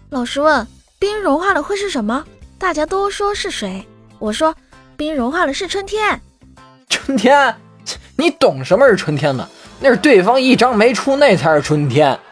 老师问冰融化了会是什么？大家都说是水，我说冰融化了是春天。 春天？你懂什么是春天呢？那是对方一张没出，那才是春天。